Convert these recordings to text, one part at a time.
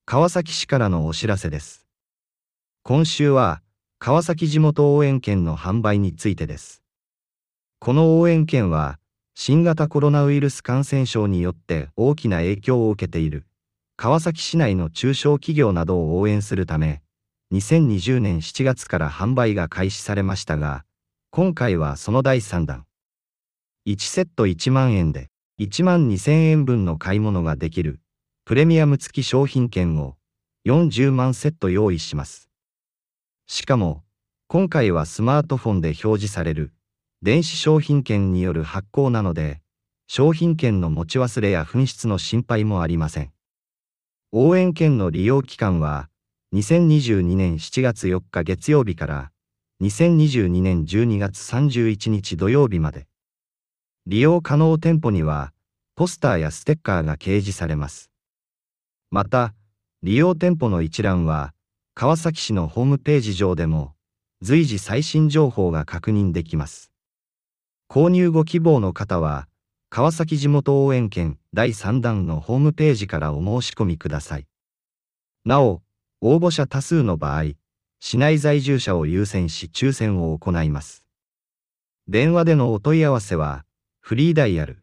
川崎市からのお知らせです。今週は、川崎地元応援券の販売についてです。この応援券は、新型コロナウイルス感染症によって大きな影響を受けている、川崎市内の中小企業などを応援するため、2020年7月から販売が開始されましたが、今回はその第3弾。1セット1万円で、1万2000円分の買い物ができる、プレミアム付き商品券を40万セット用意します。しかも、今回はスマートフォンで表示される電子商品券による発行なので、商品券の持ち忘れや紛失の心配もありません。応援券の利用期間は、2022年7月4日月曜日から2022年12月31日土曜日まで。利用可能店舗には、ポスターやステッカーが掲示されます。また、利用店舗の一覧は、川崎市のホームページ上でも、随時最新情報が確認できます。購入ご希望の方は、川崎地元応援券第3弾のホームページからお申し込みください。なお、応募者多数の場合、市内在住者を優先し抽選を行います。電話でのお問い合わせは、フリーダイヤル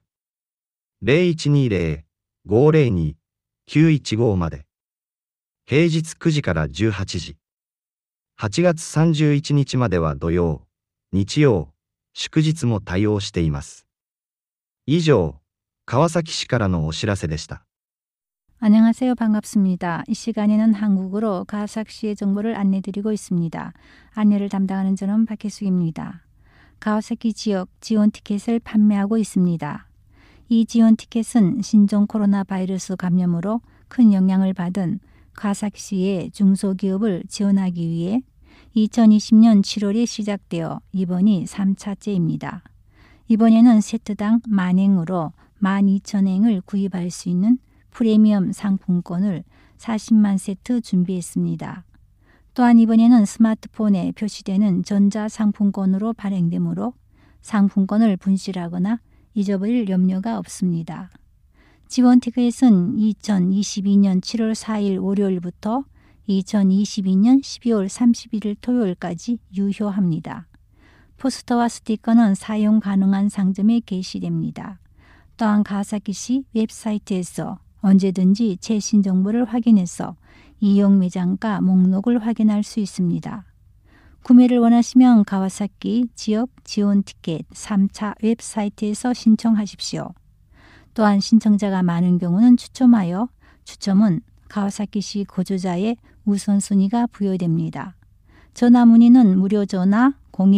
0120-502-915 まで。平日9時から18時。8月31日までは土曜、日曜、祝日も対応しています。以上、川崎市からのお知らせでした。 안녕하세요. 반갑습니다. 이 시간에는 한국어로 가와사키시의 정보를 안내드리고 있습니다. 안내를 담당하는 저는 박혜숙입니다. 가와사키 지역 지원 티켓을 판매하고 있습니다. 이 지원 티켓은 신종 코로나 바이러스 감염으로 큰 영향을 받은 가와사키시의 중소기업을 지원하기 위해 2020년 7월에 시작되어 이번이 3차째입니다. 이번에는 세트당 만행으로 12,000행을 구입할 수 있는 프리미엄 상품권을 40만 세트 준비했습니다. 또한 이번에는 스마트폰에 표시되는 전자상품권으로 발행되므로 상품권을 분실하거나 잊어버릴 염려가 없습니다. 지원 티켓은 2022년 7월 4일 월요일부터 2022년 12월 31일 토요일까지 유효합니다. 포스터와 스티커는 사용 가능한 상점에 게시됩니다. 또한 가와사키시 웹사이트에서 언제든지 최신 정보를 확인해서 이용 매장가 목록을 확인할 수 있습니다. 구매를 원하시면 가와사키 지역 지원 티켓 3차 웹사이트에서 신청하십시오. 또한 신청자가 많은 경우는 추첨하여 추첨은 가와사키시 거주자의 우선순위가 부여됩니다. 전화 문의는 무료 전화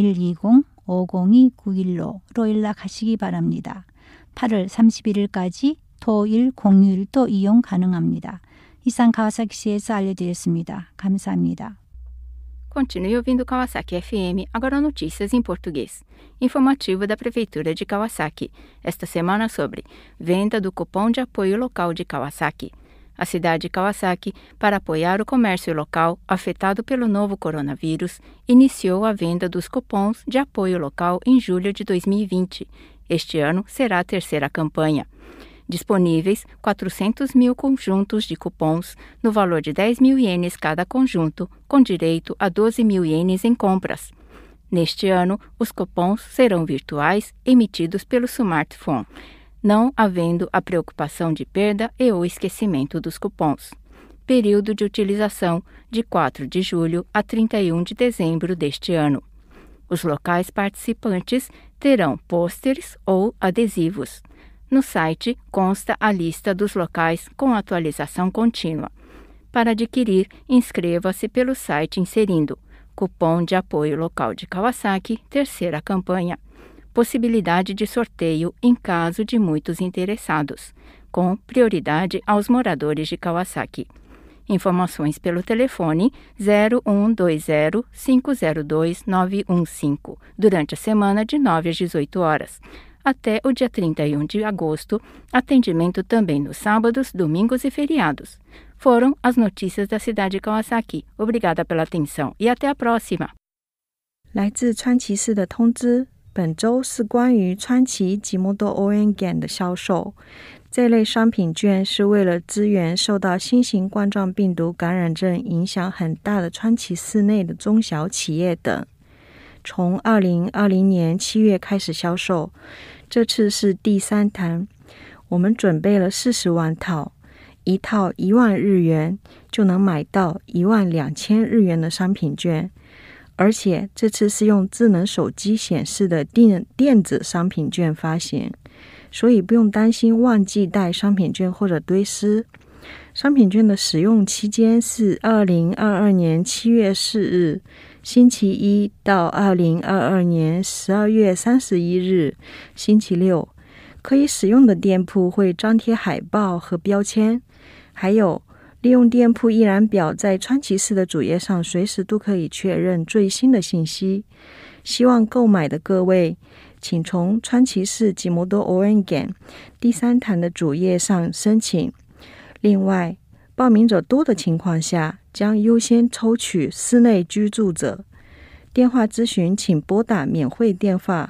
0120-502-915로 연락하시기 바랍니다. 8월 31일까지 토일 공휴일도 이용 가능합니다. 이상 가와사키시에서 알려드렸습니다. 감사합니다. Continue ouvindo Kawasaki FM, agora notícias em português. Informativo da Prefeitura de Kawasaki, esta semana sobre venda do cupom de apoio local de Kawasaki. A cidade de Kawasaki, para apoiar o comércio local afetado pelo novo coronavírus, iniciou a venda dos cupons de apoio local em julho de 2020. Este ano será a terceira campanha. Disponíveis 400 mil conjuntos de cupons no valor de 10 mil ienes cada conjunto, com direito a 12 mil ienes em compras. Neste ano, os cupons serão virtuais, emitidos pelo smartphone, não havendo a preocupação de perda e ou esquecimento dos cupons. Período de utilização de 4 de julho a 31 de dezembro deste ano. Os locais participantes terão pôsteres ou adesivos. No site consta a lista dos locais com atualização contínua. Para adquirir, inscreva-se pelo site inserindo cupom de apoio local de Kawasaki, terceira campanha. Possibilidade de sorteio em caso de muitos interessados, com prioridade aos moradores de Kawasaki. Informações pelo telefone 0120-502-915, durante a semana de 9 às 18 horas. Até o dia 31 de agosto, atendimento também nos sábados, domingos e feriados. Foram as notícias da cidade de Kawasaki. Obrigada pela atenção e até a próxima. 来自川崎市的通知， 本周是关于川崎吉摩多応援券的销售。这类商品券是为了支援受到新型冠状病毒感染症影响很大的川崎市内的中小企业等。从2020年7月开始销售，这次是第3弹。我们准备了40万套，一套1万日元就能买到12000日元的商品券，而且这次是用智能手机显示的电子商品券发行，所以不用担心忘记带商品券或者堆失。商品券的使用期间是2022年7月4日星期一到2022年12月31日星期六。可以使用的店铺会张贴海报和标签，还有利用店铺一览表在川崎市的主页上随时都可以确认最新的信息。希望购买的各位请从川崎市吉摩多応援券第3弹的主页上申请。另外，报名者多的情况下将优先抽取室内居住者。电话咨询请拨打免费电话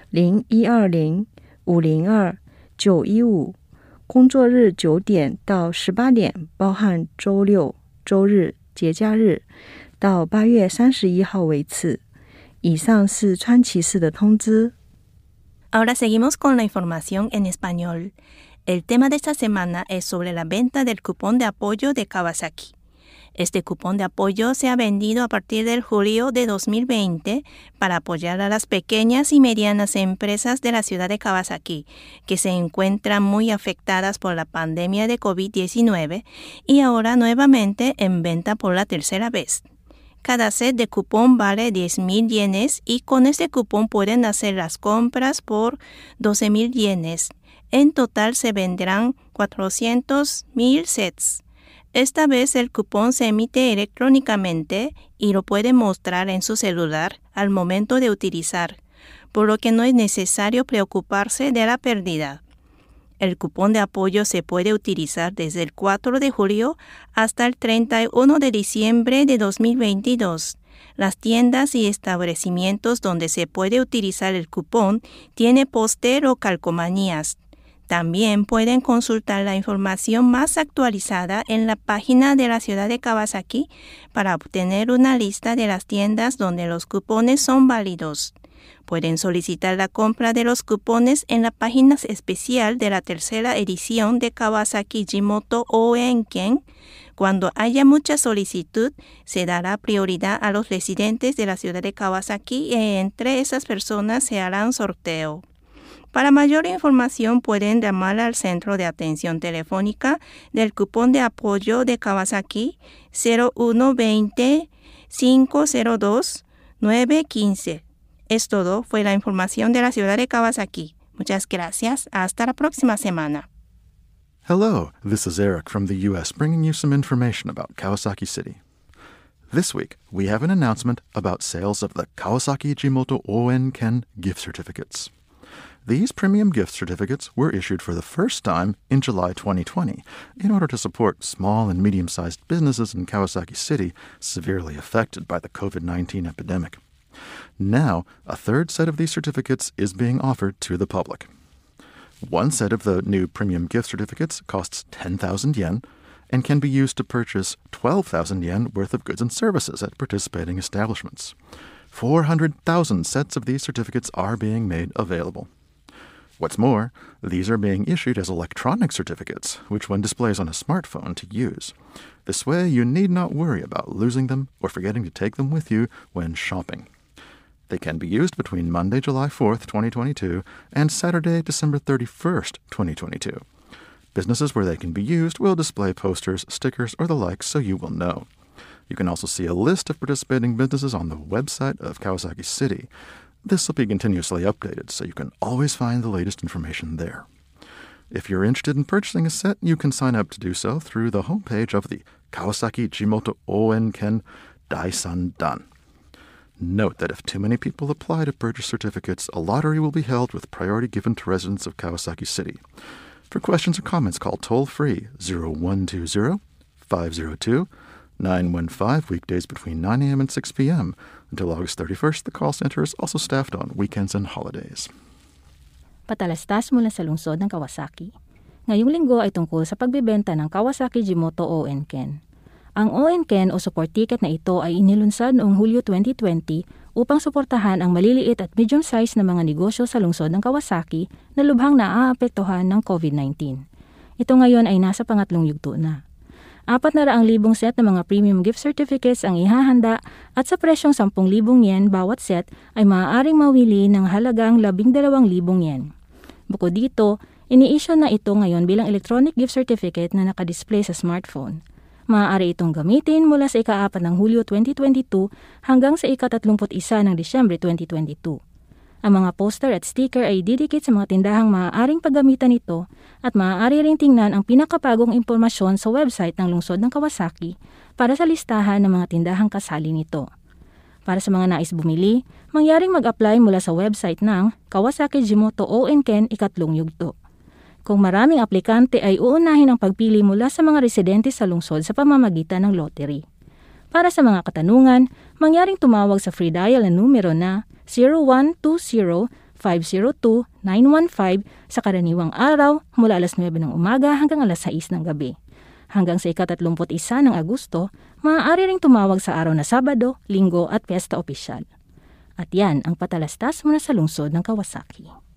0120-502-915，工作日9点到18点，包含周六、周日、节假日，到8月31号为止。以上是川崎市的通知。 Ahora seguimos con la información en español. El tema de esta semana es sobre la venta del cupón de apoyo de Kawasaki. Este cupón de apoyo se ha vendido a partir del julio de 2020 para apoyar a las pequeñas y medianas empresas de la ciudad de Kawasaki, que se encuentran muy afectadas por la pandemia de COVID-19 y ahora nuevamente en venta por la tercera vez. Cada set de cupón vale 10,000 yenes y con este cupón pueden hacer las compras por 12,000 yenes. En total se venderán 400,000 sets. Esta vez el cupón se emite electrónicamente y lo puede mostrar en su celular al momento de utilizar, por lo que no es necesario preocuparse de la pérdida. El cupón de apoyo se puede utilizar desde el 4 de julio hasta el 31 de diciembre de 2022. Las tiendas y establecimientos donde se puede utilizar el cupón tienen póster o calcomanías. También pueden consultar la información más actualizada en la página de la ciudad de Kawasaki para obtener una lista de las tiendas donde los cupones son válidos. Pueden solicitar la compra de los cupones en la página especial de la tercera edición de Kawasaki Jimoto応援券. Cuando haya mucha solicitud, se dará prioridad a los residentes de la ciudad de Kawasaki y entre esas personas se hará un sorteo. Para mayor información pueden llamar al centro de atención telefónica del cupón de apoyo de Kawasaki 0120-502-915. Es todo, fue la información de la ciudad de Kawasaki. Muchas gracias. Hasta la próxima semana. Hello, this is Eric from the U.S. bringing you some information about Kawasaki City. This week, we have an announcement about sales of the Kawasaki Jimoto応援券gift certificates. These premium gift certificates were issued for the first time in July 2020 in order to support small and medium-sized businesses in Kawasaki City severely affected by the COVID-19 epidemic. Now, a third set of these certificates is being offered to the public. One set of the new premium gift certificates costs 10,000 yen and can be used to purchase 12,000 yen worth of goods and services at participating establishments. 400,000 sets of these certificates are being made available. What's more, these are being issued as electronic certificates, which one displays on a smartphone to use. This way, you need not worry about losing them or forgetting to take them with you when shopping. They can be used between Monday, July 4th, 2022, and Saturday, December 31st, 2022. Businesses where they can be used will display posters, stickers, or the like so you will know. You can also see a list of participating businesses on the website of Kawasaki City. This will be continuously updated, so you can always find the latest information there. If you're interested in purchasing a set, you can sign up to do so through the homepage of the Kawasaki Jimoto応援券Daisan Dan. Note that if too many people apply to purchase certificates, a lottery will be held with priority given to residents of Kawasaki City. For questions or comments, call toll-free 0120-502-9700. 915 weekdays between 9 a.m. and 6 p.m. Until August 31st, the call center is also staffed on weekends and holidays. Patalastas mula sa lungsod ng Kawasaki. Ngayong linggo ay tungkol sa pagbebenta ng Kawasaki Jimoto ON-KEN. Ang ON-KEN o support ticket na ito ay inilunsad noong Hulyo 2020 upang suportahan ang maliliit at medium size na mga negosyo sa lungsod ng Kawasaki na lubhang naaapektuhan ng COVID-19. Ito ngayon ay nasa pangatlong yugto na. 400,000 set ng mga premium gift certificates ang ihahanda at sa presyong 10,000 yen bawat set ay maaaring mawili ng halagang 12,000 yen. Bukod dito, ini-issue na ito ngayon bilang electronic gift certificate na nakadisplay sa smartphone. Maaari itong gamitin mula sa ika-4 ng Hulyo 2022 hanggang sa ika-31 ng Disyembre 2022. Ang mga poster at sticker ay didikit sa mga tindahang maaaring paggamitan ito at maaari ring tingnan ang pinakabagong impormasyon sa website ng lungsod ng Kawasaki para sa listahan ng mga tindahang kasali nito. Para sa mga nais bumili, mangyaring mag-apply mula sa website ng Kawasaki Jimoto ON-KEN ikatlong yugto. Kung maraming aplikante ay uunahin ang pagpili mula sa mga residente sa lungsod sa pamamagitan ng lottery. Para sa mga katanungan, mangyaring tumawag sa free dial na numero na 0120-502-915 sa karaniwang araw mula alas 9 ng umaga hanggang alas 6 ng gabi. Hanggang sa ika-31 ng Agosto, maaari ring tumawag sa araw na Sabado, Linggo at Piyesta Opisyal. At yan ang patalastas mula sa lungsod ng Kawasaki.